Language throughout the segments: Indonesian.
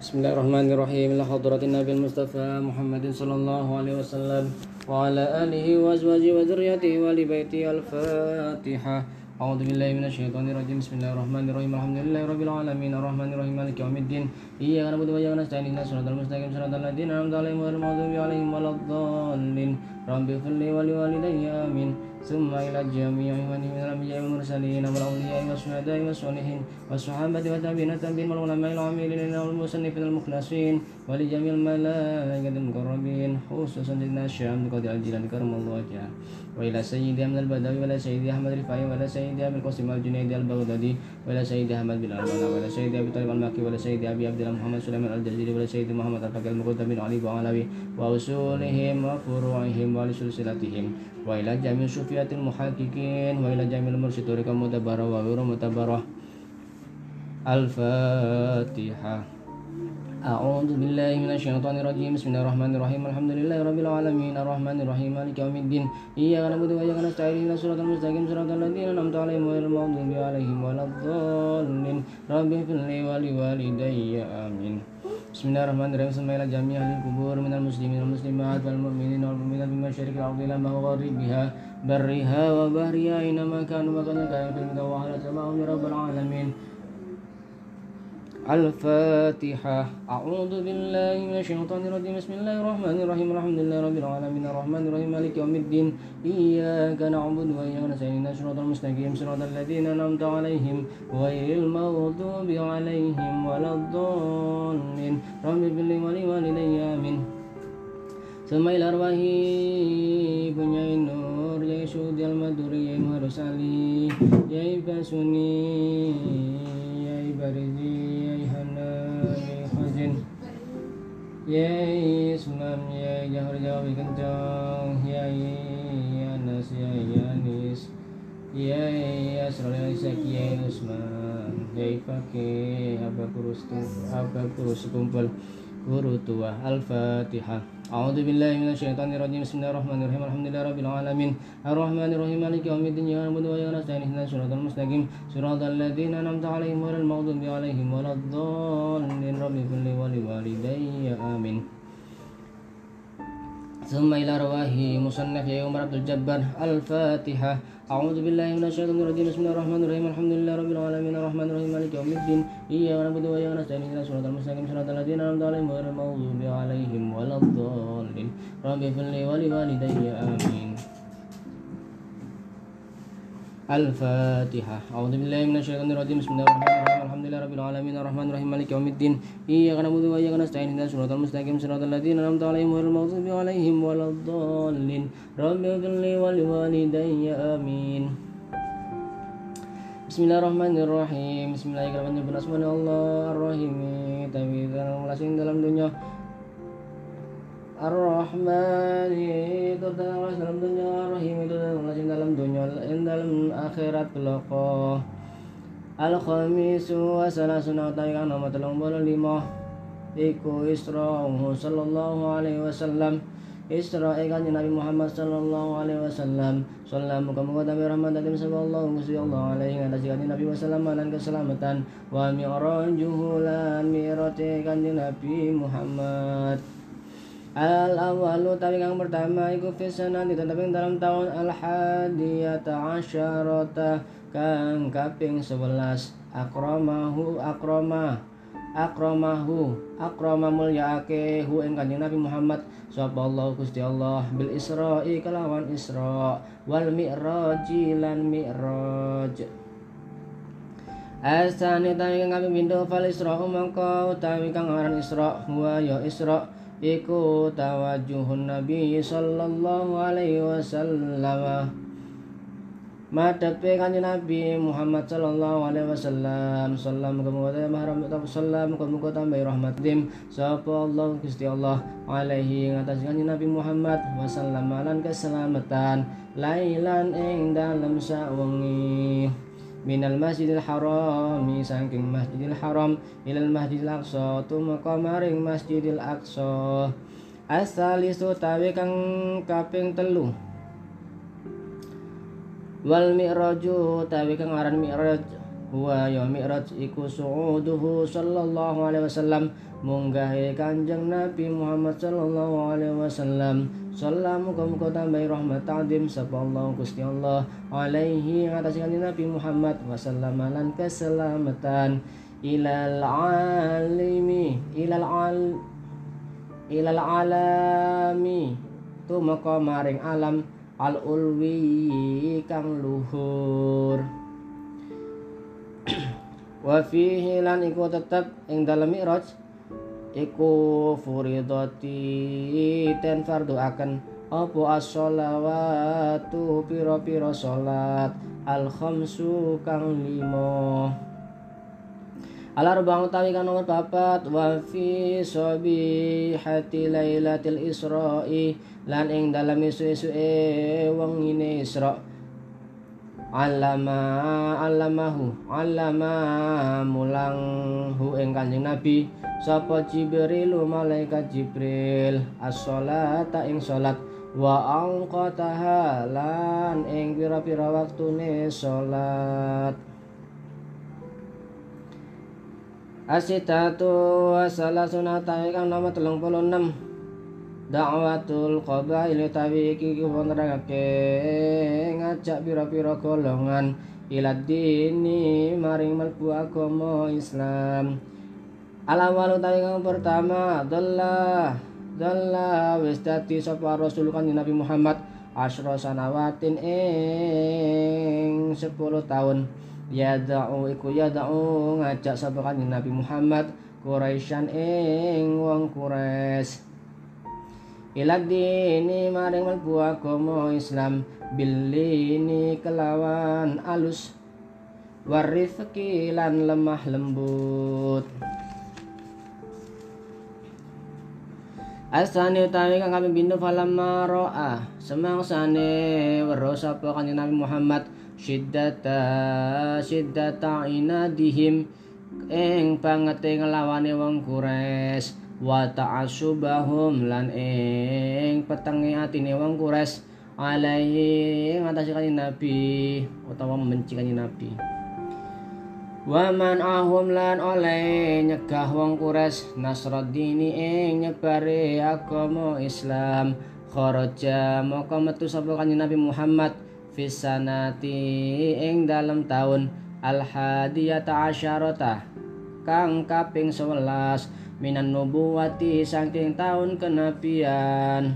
Bismillahirrahmanirrahim. Ila hadratin Nabi Mustafa Muhammadin sallallahu alaihi wasallam wa ala alihi wa azwajihi wa dzurriyyatihi wa li baiti al-Fatihah. A'udzu billahi minasyaitonir rajim. Bismillahirrahmanirrahim. Alhamdulillahirabbil alamin arrahmanir rahim maliki yaumiddin. Iyyaka na'budu wa iyyaka nasta'in ihdinas siratal mustaqim siratal ladzina an'amta 'alaihim ghairil maghdubi 'alaihim waladdallin. Rabbi ighfirli wa li walidayya amin. ثم إلى جميع من الأنبياء والمرسلين والأولياء والشهداء والصالحين والصحابة والتابعين والتابعين والعلماء العاملين والمصنفين المخلصين ولجميع الملائكة المقربين خصوصا سيدنا الشام قاضي الجيلاني كرم الله وجهه وإلى سيدي أحمد البدوي وإلى سيدي أحمد الرفاعي وإلى سيدي أبي القاسم الجنيدي البغدادي وإلى سيدي أحمد بن البنا وإلى سيدي أبي طالب المكي وإلى سيدي أبي عبد الله محمد سليمان الجزيري وإلى سيدي محمد الفقيه المقدم بن علي وعلوي وأصولهم وفروعهم ولسلسلتهم وإلى جميع صوفية المحققين وإلى جميع المرشد طريق المتبرة وغير متبرة. الفاتحة. أعوذ بالله من الشيطان الرجيم. بسم الله الرحمن الرحيم. الحمد لله رب العالمين الرحمن الرحيم مالك يوم الدين إياك نعبد وإياك نستعين اهدنا الصراط المستقيم صراط الذين أنعمت عليهم غير المغضوب عليهم ولا الضالين رب اغفر لي ولوالدي آمين. Bismillahirrahmanirrahim. Semaila jami ahli kubur minal muslimin wal muslimat wal mu'minin wal mu'minat min masyariqil ardi ila magharibiha barriha wa bahriha inama kanu makana kaya fil wa ala sama'um ya rabbal alamin. Al-Fatihah. A'udzu billahi minasyaitonir rajim. Bismillahirrahmanirrahim. Alhamdulillahi rabbil alamin arrahmanir rahim maliki yaumiddin iyyaka na'budu wa iyyaka nasta'in ihdinas siratal mustaqim siratal ladzina an'amta 'alaihim ghairil maghdubi 'alaihim waladdallin rabbi ighfirli wa li walidayya amin. Semail arwahi punyai nur yai sudil maduri yai muharusali yai basuni yai barizi Yai Sulam Yai Jahar Jawi Kencang Yai Anas Yai Anis Yai Asral Isak Yai Usman Yai Fakih Abah Kurus Kumpul Guru Tua. Al-Fatihah. A'udzu billahi minasyaitonir rajim. Bismillahirrahmanirrahim. Alhamdulillahi rabbil alamin arrahmanir rahim maliki yaumiddin iyyaka na'budu wa iyyaka nasta'in ihdinas siratal mustaqim siratal ladzina an'amta 'alaihim ghairil maghdubi 'alaihim waladdallin rabbi ighfir li wa li walidayya amin. Thumma ila rawahi musannaf ya Umar Abdul Jabbar. Al-Fatihah. A'udzu billahi minasyaitonir rajim. Bismillahirrahmanirrahim. Alhamdulillahi rabbil alamin arrahmanir rahim maliki yaumiddin iyyaka na'budu wa iyyaka nasta'in ihdinas siratal mustaqim siratal ladzina an'amta 'alaihim ghairil maghdubi 'alaihim waladdallin rabbi ighfir li wa li walidayya amin. Al-Fatihah. A'udzu billahi minasyaitonir rajim. Bismillahirrahmanirrahim. Alhamdulillahi rabbil alamin arrahmanir rahim maliki yaumiddin iyyaka na'budu wa iyyaka nasta'in ihdinas siratal mustaqim siratal ladzina an'amta 'alaihim ghairil maghdubi 'alaihim waladdallin rabbi ighfir li wa li walidayya amin. Bismillahirrahmanirrahim. Bismillahirrahmanirrahim. Bismillahirrahmanirrahim. Ar-Rahim. Tawizan melasing dalam dunia Ar-Rahman itu dalam dunia, Ar-Rahim itu dalam dunia, dalam akhirat kelak. Al-Khamisu wa salasuna ta'ikan nama telung bolu lima iku Isra'uhu sallallahu alaihi wasallam. Isra'i kanjeng Nabi Muhammad sallallahu alaihi wasallam. Sallam muka-muka tabi rahmat dan sallallahu alaihi atas kanjeng Nabi wasallam dan keselamatan. Wa mi'rajuhu lan mi'rati kanjeng Nabi Muhammad. Al-awwalu tawi kang pertama iku fisanati tetapi dalam tahun al-hadiyata asyarata kang kaping 11 akrama mulyaake hu ing kanjeng Nabi Muhammad sallallahu Gusti Allah bil Isra'i kelawan Isra wal Mi'raji lan Mi'raj. Asani tawi kang kaping pindho fal Isra'u mangka utawi kang aran Isra huwa ya Isra iku tawajuhun Nabi sallallahu alaihi wasallam madhepe kanjeng Nabi Muhammad sallallahu alaihi wasallam sallam kemudian mahram sallam kemudian tambah rahmat dim sapa Allah Gusti Allah alaihi ngatas kanjeng Nabi Muhammad wasallam lan keselamatan lailan ing dalem sawengi minal masjidil harami saking masjidil haram ilal masjidil aqsa tumeka maring masjidil aqsa. As-salisu tawi kang kaping 3 wal mi'raju tawi kang aran mi'raj huwa ya mi'raj iku su'uduhu sallallahu alaihi wasallam munggahe Kanjeng Nabi Muhammad sallallahu alaihi wasallam. Salam muga-muga tambahi rahmat ta'zim sapa Allah Gusti Allah alaihi atas kanjeng Nabi Muhammad wasallam lan keselamatan ilal alami tumeka maring alam al ulwi kang luhur. Wa fihi lan iku tetep ing dalem Mi'raj iku furidati ten fardu akan apa as-sholawatu pira-pira salat al khamsu kang 5 al-arba'u utawi kang nomor 4 wa fi sabihati lailatul isra'i lan ing dalem isu-isuke wengine Isra allama mulanghu ing Kanjeng Nabi sapa Jibril malaikat Jibril as-sholata ing salat wa angqataha lan ing pira-pira waktune salat asitatu wasalasuna kang nomor 36 Da'watul qabail utawi iki nerangake ngajak pira-pira golongan ilad dini maring mlebu agama Islam. Al-awwal utawi kang pertama dalla wis dadi sapa Rasul Kanjeng Nabi Muhammad asyra sanawatin ing 10 tahun. Yada'u ngajak sapa Kanjeng Nabi Muhammad Quraisyan ing wong Quraisy ilad dini maring mlebu agama Islam bilini kelawan alus warifqi lan lemah lembut. Asani utawi kang kaping pindho falamma ra'a semangsane weruh sapa Kanjeng Nabi Muhammad syiddata inadihim ing bangete nglawane wong Quraisy wa ta'assubahum lan ing petenge atine wong Quraisy alaihi ngatasi Kanjeng Nabi utawa membenci Kanjeng Nabi. Wa man ahum lan oleh nyegah wong Quraisy nasraddini ing nyebare agama Islam kharaja maka metu sapa Kanjeng Nabi Muhammad fisanati ing dalem taun al-hadiyata asyarata kang kaping 11 minan nubuwati saking taun kenabian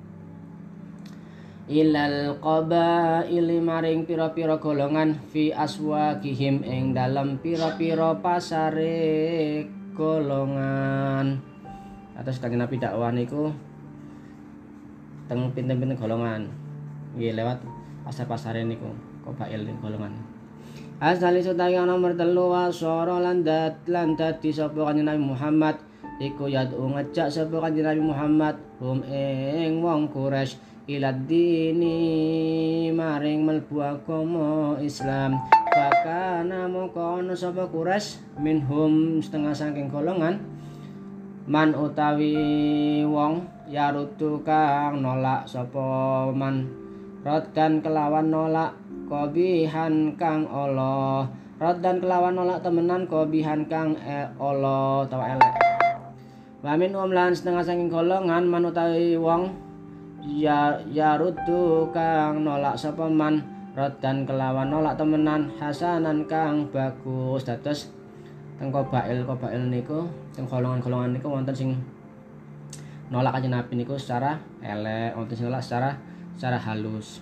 ilal qabaili maring pira-pira golongan fi aswaqihim ing dalam pira-pira pasare golongan. Atas Kanjeng Nabi dakwah niku teng pinten-pinten golongan nggih lewat pasar-pasare niku qabail golongan. Asali sutawi nomor 3 wasara lan dadi sapa Kanjeng Nabi Muhammad iku yad'u ngajak sapa Kanjeng Nabi Muhammad hum ing wong Quraisy ilad dini maring mlebu agama Islam. Fakana moko ana sapa Quraisy minhum setengah saking golongan man utawi wong yarutu kang nolak sapa man roddan kelawan nolak kobihan kang Allah roddan kelawan nolak temenan kobihan kang Allah utawa elek. Wamin lan setengah saking golongan man utawi wong yarutu kang nolak sapa man roddan kelawan nolak temenan hasanan kang bagus. Dados teng qabail niku teng golongan niku wonten sing nolak Kanjeng Nabi niku secara elek, wonten sing nolak secara halus.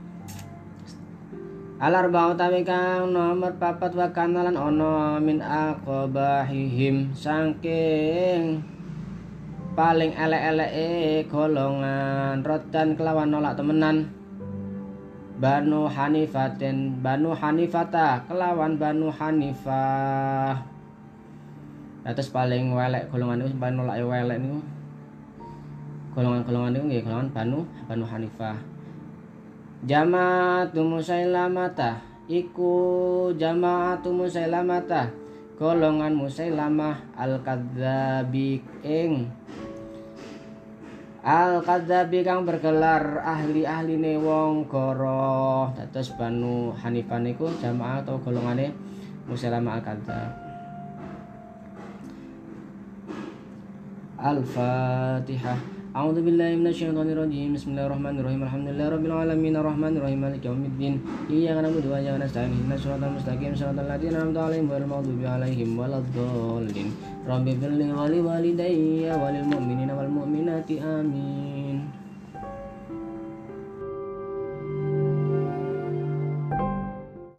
Al-arba'u utawi kang nomor 4 wa kanalan ana min aqbahihim saking paling elek-eleke golongan roddan kelawan nolak temenan Banu Hanifata kelawan Banu Hanifah. Atas paling welek golongan niku paling nolak welek niku golongan niku nggih golongan Banu Hanifah. Jama'atu Musailamata iku Jama'atu Musailamata golongan Musailamah al-kadzabi kang bergelar ahli-ahline wong goro. Dados Banu Hanifah niku jamaah atau golongane Musailamah al-kadzab. الفاتحة. أعوذ بالله من الشيطان الرجيم. بسم الله الرحمن الرحيم. الحمد لله رب العالمين الرحمن الرحيم مالك يوم الدين إياك نعبد وإياك نستعين اهدنا الصراط المستقيم صراط الذين أنعمت عليهم غير المغضوب عليهم ولا الضالين. رب اغفر لي ولوالدي وللمؤمنين والمؤمنات آمين.